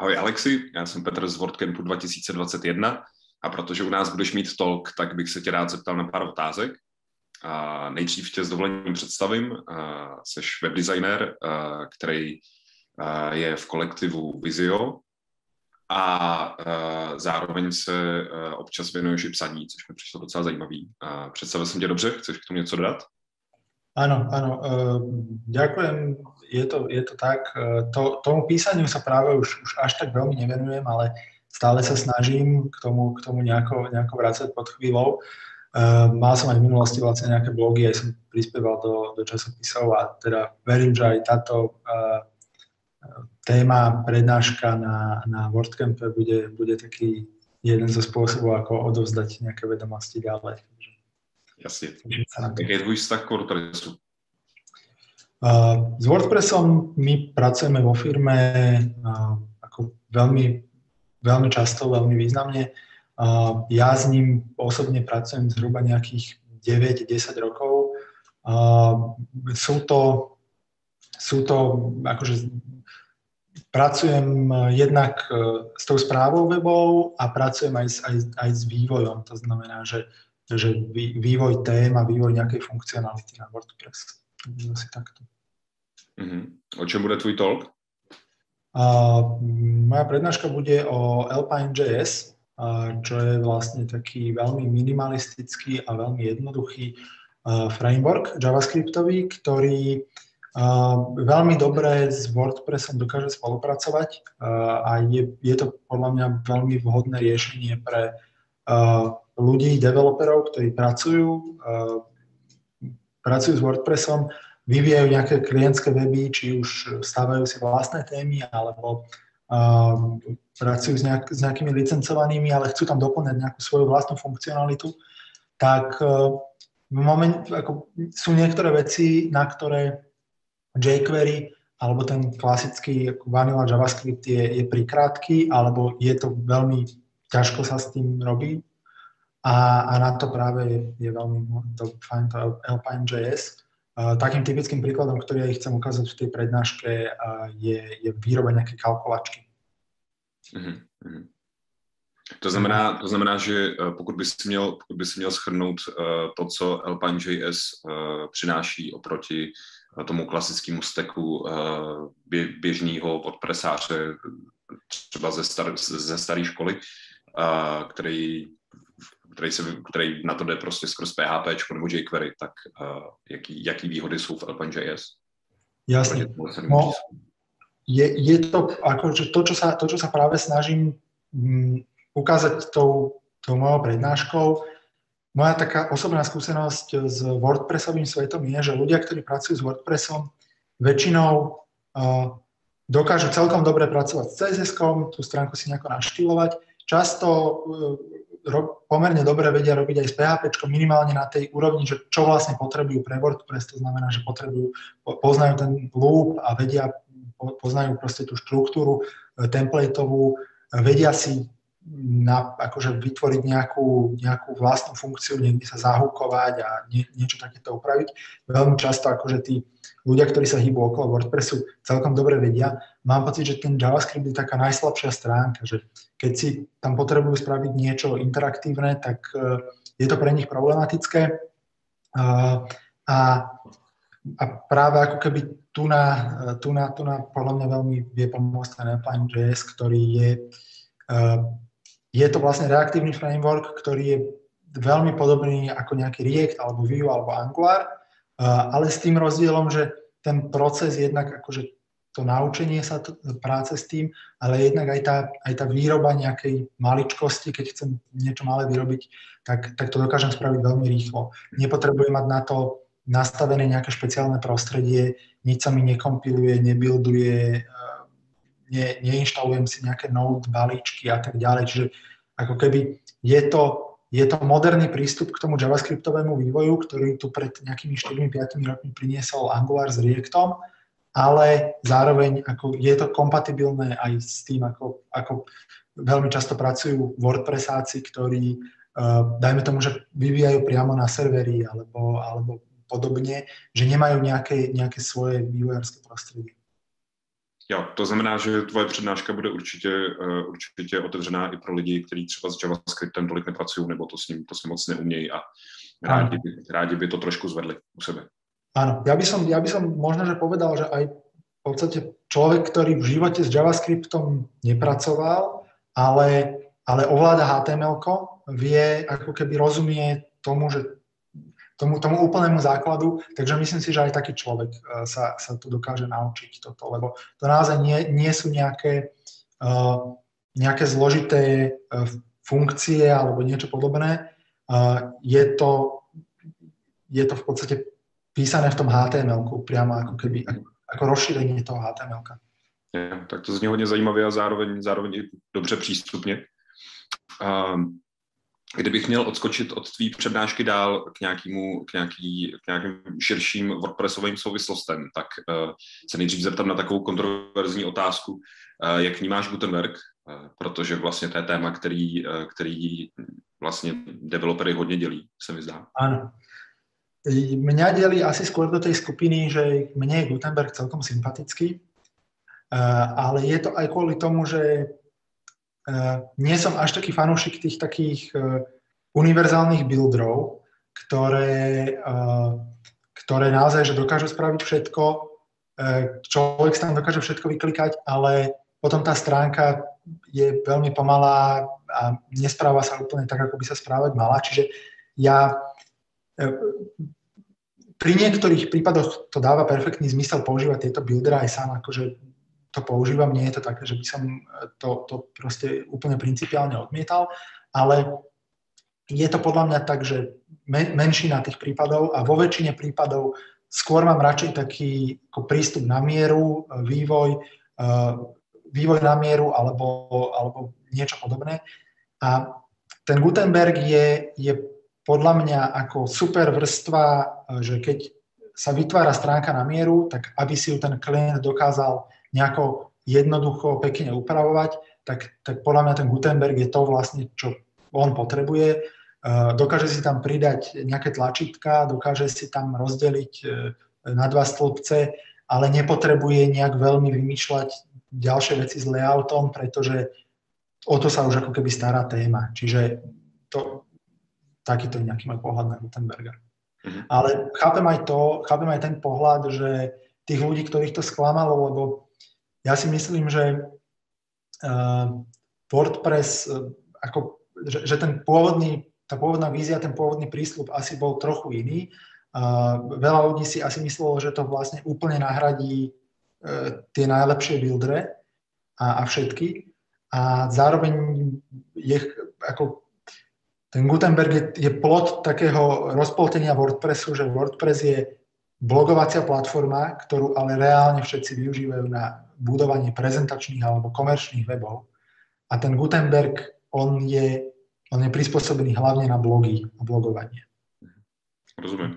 Ahoj Alexi, já jsem Petr z WordCampu 2021 a protože u nás budeš mít talk, tak bych se tě rád zeptal na pár otázek. Nejdřív tě s dovolením představím. Seš webdesigner, který je v kolektivu Visio a zároveň se občas věnuješ i psaní, což mi přišlo docela zajímavý. Představil jsem tě dobře? Chceš k tomu něco dodat? Áno, ďakujem, je to tak. Tomu písaniu sa práve už až tak veľmi nevenujem, ale stále sa snažím k tomu nejako vrácať pod chvíľou. Mal som aj v minulosti vlastne nejaké blogy, aj som prispieval do časopisov a teda verím, že aj táto téma, prednáška na WordCampe bude taký jeden zo spôsobov, ako odovzdať nejaké vedomosti ďalej. Jasně. Jaký je tvůj vztah k WordPressu? S WordPressom my pracujeme vo firme ako veľmi často, veľmi významne. Ja s ním osobne pracujem zhruba nejakých 9-10 rokov. Sú to akože pracujem jednak s tou správou webov a pracujem aj s vývojom. To znamená, že vývoj tém a vývoj nejakej funkcionality na WordPress. Asi takto. O čom bude tvoj talk? Moja prednáška bude o Alpine.js, čo je vlastne taký veľmi minimalistický a veľmi jednoduchý framework javascriptový, ktorý veľmi dobre s WordPressom dokáže spolupracovať a je to podľa mňa veľmi vhodné riešenie pre ľudí, developerov, ktorí pracujú s WordPressom, vyvíjajú nejaké klientské weby, či už stávajú si vlastné témy, alebo pracujú s nejakými licencovanými, ale chcú tam doplňať nejakú svoju vlastnú funkcionalitu, tak sú niektoré veci, na ktoré jQuery alebo ten klasický vanilla JavaScript je prikrátky, alebo je to veľmi ťažko sa s tým robí. A na to práve je veľmi fajn to Alpine.js. Takým typickým príkladom, ktorý ja chcem ukázať v tej prednáške, je výroba nejakej kalkulačky. To znamená, že pokud by si měl shrnout to, co Alpine.js přináší oproti tomu klasickému stacku běžného WordPressáře, třeba ze staré školy, který na to jde prostě skrz PHP nebo jQuery, tak jaký výhody jsou v Alpine.js? Jasne. No, je to akože to, čo sa práve snažím ukázať tou mojou prednáškou. Moja taká osobná skúsenosť s WordPressovým svetom je, že ľudia, ktorí pracujú s WordPressom, väčšinou dokážu celkom dobre pracovať s CSS-kom, tú stránku si nejako naštýlovať. Často pomerne dobre vedia robiť aj s PHP, minimálne na tej úrovni, že čo vlastne potrebujú pre WordPress, to znamená, že poznajú ten loop a poznajú proste tú štruktúru templateovú, vedia si akože vytvoriť nejakú vlastnú funkciu, niekde sa zahúkovať a niečo takéto upraviť. Veľmi často akože tí ľudia, ktorí sa hýbu okolo WordPressu, celkom dobre vedia. Mám pocit, že ten JavaScript je taká najslabšia stránka, že keď si tam potrebujú spraviť niečo interaktívne, tak je to pre nich problematické. A práve ako keby tu na podľa mňa veľmi vie pomôcť ten Alpine.js, ktorý je to vlastne reaktívny framework, ktorý je veľmi podobný ako nejaký React alebo Vue alebo Angular, ale s tým rozdielom, že ten proces jednak akože to naučenie sa práce s tým, ale jednak aj tá výroba nejakej maličkosti, keď chcem niečo malé vyrobiť, tak to dokážem spraviť veľmi rýchlo. Nepotrebujem mať na to nastavené nejaké špeciálne prostredie, nič sa mi nekompiluje, nebuilduje, neinštalujem si nejaké node balíčky a tak ďalej. Čiže ako keby je to moderný prístup k tomu javascriptovému vývoju, ktorý tu pred nejakými 4-5 rokmi priniesol Angular s Reactom, ale zároveň ako je to kompatibilné aj s tým, ako veľmi často pracujú WordPressáci, ktorí, dajme tomu, že vyvíjajú priamo na serveri alebo podobne, že nemajú nejaké svoje vývojárske prostredie. Jo, to znamená, že tvoje přednáška bude určitě otevřená i pro lidi, kteří třeba s JavaScriptem tolik nepracují, nebo to s ním moc neumějí a rádi by to trošku zvedli u sebe. Áno, ja by som možno, že povedal, že aj v podstate človek, ktorý v živote s JavaScriptom nepracoval, ale ovláda HTML-ko, vie, ako keby rozumie tomu, že tomu úplnému základu, takže myslím si, že aj taký človek sa tu dokáže naučiť toto, lebo to naozaj nie sú nejaké zložité funkcie alebo niečo podobné. Je to v podstate písané v tom HTML-ku, priamo ako keby, ako rozšírenie toho HTML-ka. Ja, tak to zní hodně zajímavě a zároveň i dobře přístupně. Kdybych měl odskočit od tvý přednášky dál k nějakým širším WordPressovým souvislostem, tak se nejdřív zeptám na takovou kontroverzní otázku, jak vnímáš Gutenberg, protože vlastně to je téma, který vlastně developery hodně dělí, se mi zdá. Áno. Mňa delí asi skôr do tej skupiny, že mne je Gutenberg celkom sympatický, ale je to aj kvôli tomu, že nie som až taký fanúšik tých takých univerzálnych builderov, ktoré naozaj že dokážu spraviť všetko, človek sa tam dokáže všetko vyklikať, ale potom tá stránka je veľmi pomalá a nespráva sa úplne tak, ako by sa správať mala. Čiže ja pri niektorých prípadoch to dáva perfektný zmysel používať tieto buildery, aj sám akože to používam, nie je to také, že by som to proste úplne principiálne odmietal, ale je to podľa mňa tak, že menšina tých prípadov a vo väčšine prípadov skôr mám radšej taký ako prístup na mieru, vývoj na mieru alebo niečo podobné. A ten Gutenberg je podľa mňa ako super vrstva, že keď sa vytvára stránka na mieru, tak aby si ju ten klient dokázal nejako jednoducho, pekne upravovať, tak podľa mňa ten Gutenberg je to vlastne, čo on potrebuje. Dokáže si tam pridať nejaké tlačítka, dokáže si tam rozdeliť na dva stĺpce, ale nepotrebuje nejak veľmi vymýšľať ďalšie veci s layoutom, pretože o to sa už ako keby stará téma. Čiže takýto je nejaký môj pohľad na Gutenberga. Ale chápem aj ten pohľad, že tých ľudí, ktorých to sklamalo, lebo ja si myslím, že WordPress, že tá pôvodná vízia, ten pôvodný prísľub asi bol trochu iný. Veľa ľudí si asi myslelo, že to vlastne úplne nahradí tie najlepšie buildery a všetky. A zároveň ten Gutenberg je plod takého rozpoltenia WordPressu, že WordPress je blogovacia platforma, ktorú ale reálne všetci využívajú na budovanie prezentačných alebo komerčných webov. A ten Gutenberg, on je prispôsobený hlavne na blogy a blogovanie. Rozumím.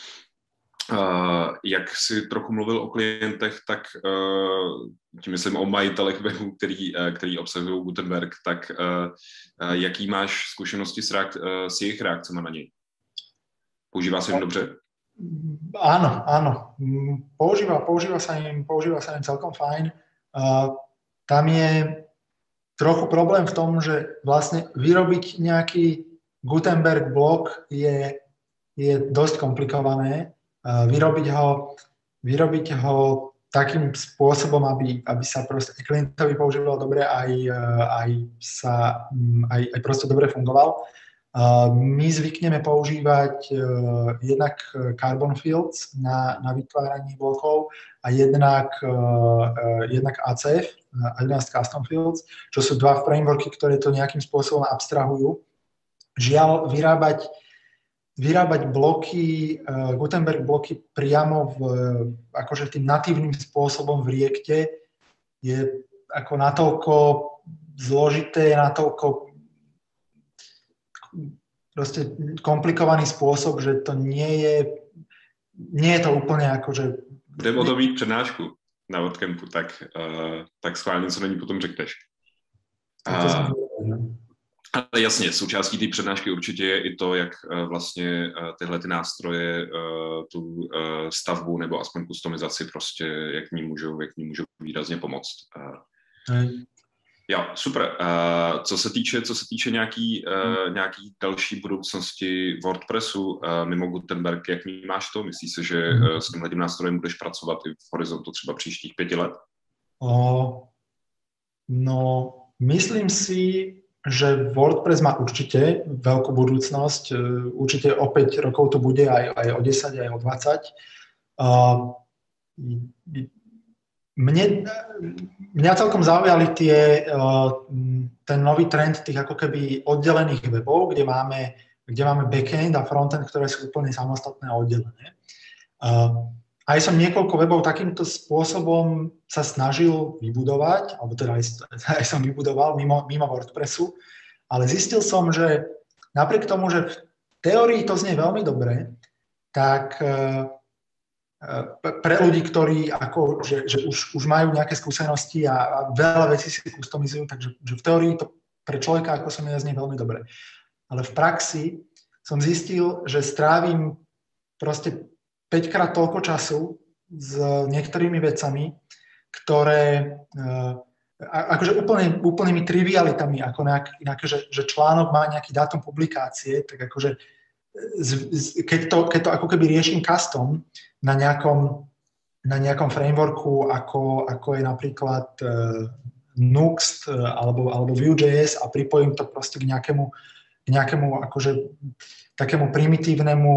Jak si trochu mluvil o klientech, tak tím myslím o majitelech webů, který obsahují Gutenberg, tak jaký máš zkušenosti s jejich reakcemi na něj? Používá se jim dobře? Áno. Používa sa im celkom fajn. Tam je trochu problém v tom, že vlastne vyrobiť nejaký Gutenberg blog je dosť komplikované. Vyrobiť ho takým spôsobom, aby sa proste klientovi používal dobre aj proste dobre fungoval. My zvykneme používať jednak Carbon Fields na vytváranie blokov a jednak ACF, Advanced Custom Fields, čo sú dva frameworky, ktoré to nejakým spôsobom abstrahujú. Žiaľ, vyrábať bloky, Gutenberg bloky priamo akože tým natívnym spôsobom v Reacte je ako natoľko zložité, natoľko proste komplikovaný spôsob, že to nie je to úplne akože... Budeme o to mít přednášku na WordCampu, tak schválně, co na ní potom řekneš. Ale jasně, součástí té přednášky určitě je i to, jak vlastně tyhle ty nástroje, tu stavbu nebo aspoň kustomizaci prostě, jak ní můžou výrazně pomoct. Jo, super. Co se týče nějaký další budoucnosti WordPressu mimo Gutenberg, jak vnímáš to? Myslíš si, že s tímhletím nástrojem budeš pracovat i v horizontu třeba příštích 5 let? No, myslím si, že WordPress má určite veľkú budúcnosť. Určite o 5 rokov to bude, aj o 10, aj o 20. Mňa celkom zaujali ten nový trend tých ako keby oddelených webov, kde máme backend a frontend, ktoré sú úplne samostatné a oddelené. Aj som niekoľko webov takýmto spôsobom sa snažil vybudovať, alebo teda aj som vybudoval mimo WordPressu, ale zistil som, že napriek tomu, že v teórii to znie veľmi dobre, tak pre ľudí, ktorí že už majú nejaké skúsenosti a veľa vecí si kustomizujú, takže že v teórii to pre človeka, ako som ja, znie veľmi dobre. Ale v praxi som zistil, že strávim proste 5-krát toľko času s niektorými vecami, ktoré akože úplnými trivialitami, ako nejaké, že článok má nejaký dátum publikácie, tak akože keď to ako keby riešim custom na nejakom frameworku, ako je napríklad Nuxt alebo Vue.js a pripojím to proste k nejakému akože takému primitívnemu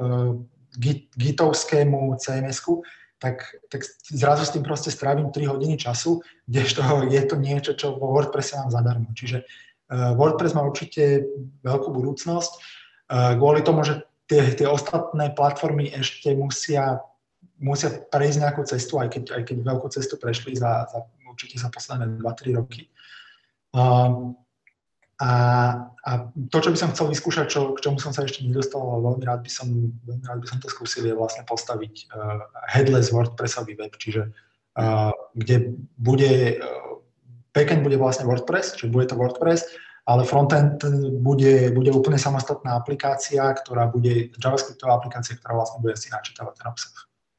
gitovskému CMS-ku, tak zrazu s tým proste strávim 3 hodiny času, kdežto je to niečo, čo vo WordPresse mám zadarmo. Čiže WordPress má určite veľkú budúcnosť. Kvôli tomu, že tie ostatné platformy ešte musia prejsť nejakú cestu, aj keď veľkú cestu prešli určite za posledné 2-3 roky. A to, čo by som chcel vyskúšať, k čomu som sa ešte nedostal, ale veľmi rád by som to skúsil, je vlastne postaviť headless WordPressový web, čiže kde backend bude vlastne WordPress, čiže bude to WordPress, ale frontend bude úplne samostatná aplikácia, ktorá bude JavaScriptová aplikácia, ktorá vlastne bude si načítavať ten obsah.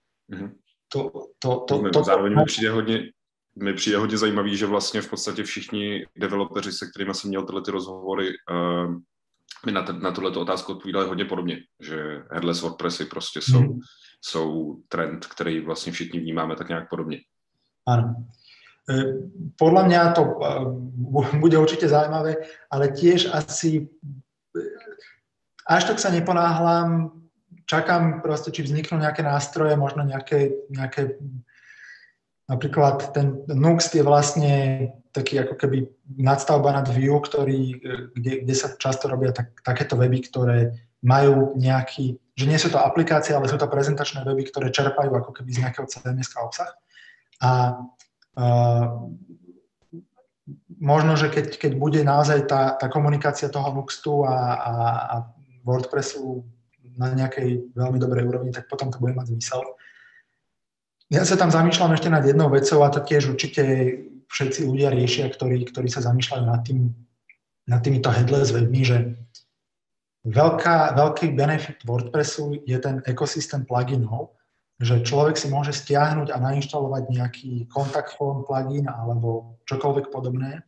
Zároveň mi přijde hodně zajímavý, že vlastně v podstatě všichni developeři, se kterými jsem měl tyhle ty rozhovory, mi na tuto otázku odpovídali hodně podobně, že headless WordPressy prostě jsou trend, který vlastně všichni vnímáme tak nějak podobně. Áno. Podľa mňa to bude určite zaujímavé, ale tiež asi až tak sa neponáhľam, čakám proste, či vzniknú nejaké nástroje, možno nejaké napríklad ten Nuxt je vlastne taký ako keby nadstavba nad Vue, kde sa často robia takéto weby, ktoré majú nejaký, že nie sú to aplikácie, ale sú to prezentačné weby, ktoré čerpajú ako keby z nejakého CMS-ka obsah. A možno, že keď bude naozaj tá komunikácia toho Nuxtu a WordPressu na nejakej veľmi dobrej úrovni, tak potom to bude mať zmysel. Ja sa tam zamýšľam ešte nad jednou vecou a to tiež určite všetci ľudia riešia, ktorí sa zamýšľajú nad týmito headless webmi, že veľký benefit WordPressu je ten ekosystém pluginov, že človek si môže stiahnuť a nainštalovať nejaký contact form plugin alebo čokoľvek podobné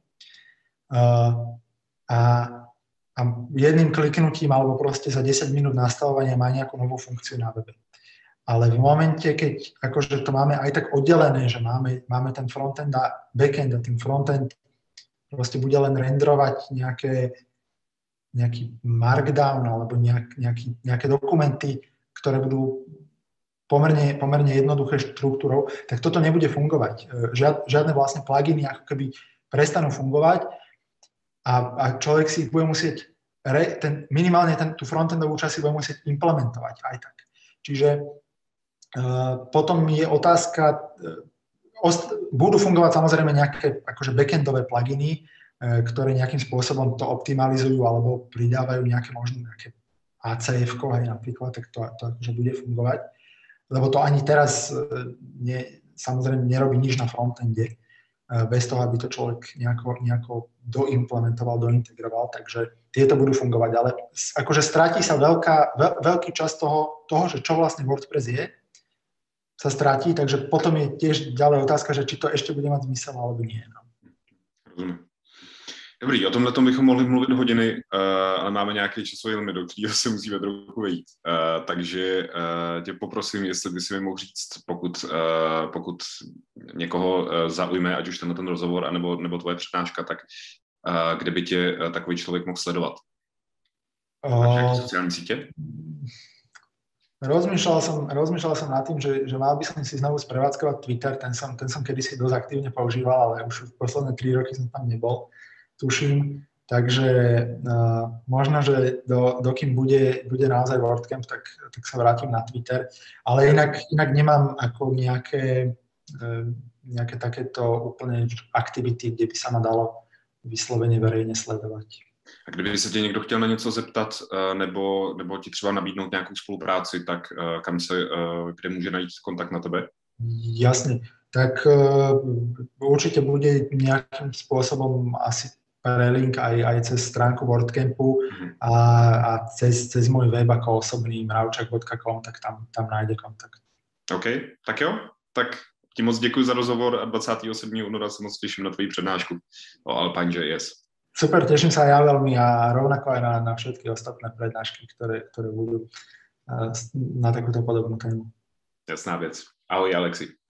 a jedným kliknutím alebo proste za 10 minút nastavovania má nejakú novú funkciu na webe. Ale v momente, keď akože to máme aj tak oddelené, že máme ten frontend a backend a ten frontend proste bude len renderovať nejaký markdown alebo nejaké dokumenty, ktoré budú pomerne jednoduché štruktúrou, tak toto nebude fungovať. Žiadne vlastne pluginy ako keby prestanú fungovať a človek si bude musieť minimálne tú frontendovú časť si bude musieť implementovať aj tak. Čiže potom je otázka, budú fungovať samozrejme nejaké akože backendové pluginy, ktoré nejakým spôsobom to optimalizujú alebo pridávajú nejaké ACF-ko aj napríklad, tak to akože bude fungovať. Lebo to ani teraz samozrejme nerobí nič na frontende. bez toho, aby to človek nejako doimplementoval, dointegroval, takže tieto budú fungovať, ale akože stratí sa veľký čas toho, že čo vlastne WordPress je, sa stratí, takže potom je tiež ďalej otázka, že či to ešte bude mať zmysel alebo nie. No. Rozumím. Dobrý, o tomhle bychom mohli mluvit hodiny, ale máme nějaký časový limit, do kterého se musíme trochu vejít. Takže tě poprosím, jestli by si mi mohl říct, pokud někoho zaujme, ať už ten rozhovor, nebo tvoje přednáška, tak kde by tě takový člověk mohl sledovat? Na nějaké sociální sítě? Rozmýšľal som nad tým, že mal by som si znovu sprevádzkovať Twitter, ten som kedysi dosť aktívne používal, ale už v posledné 3 roky som tam nebol, tuším. Takže možno, že dokým bude naozaj WordCamp, tak sa vrátim na Twitter. Ale inak nemám ako nejaké takéto úplne aktivity, kde by sa ma dalo vyslovene verejne sledovať. A kdyby se tě někdo chtěl na něco zeptat nebo ti třeba nabídnout nějakou spolupráci, tak kde může najít kontakt na tebe? Jasne. Tak určite bude nejakým spôsobom asi prelink aj cez stránku WordCampu a cez môj web ako osobný mravčak.com, tak tam nájde kontakt. OK, tak jo. Tak ti moc děkuji za rozhovor a 27. února se moc těším na tvoji přednášku o Alpine.js. Super, teším sa ja veľmi a rovnako aj na všetky ostatné prednášky, ktoré budú na takúto podobnú tému. Jasná věc. Ahoj, Alexi.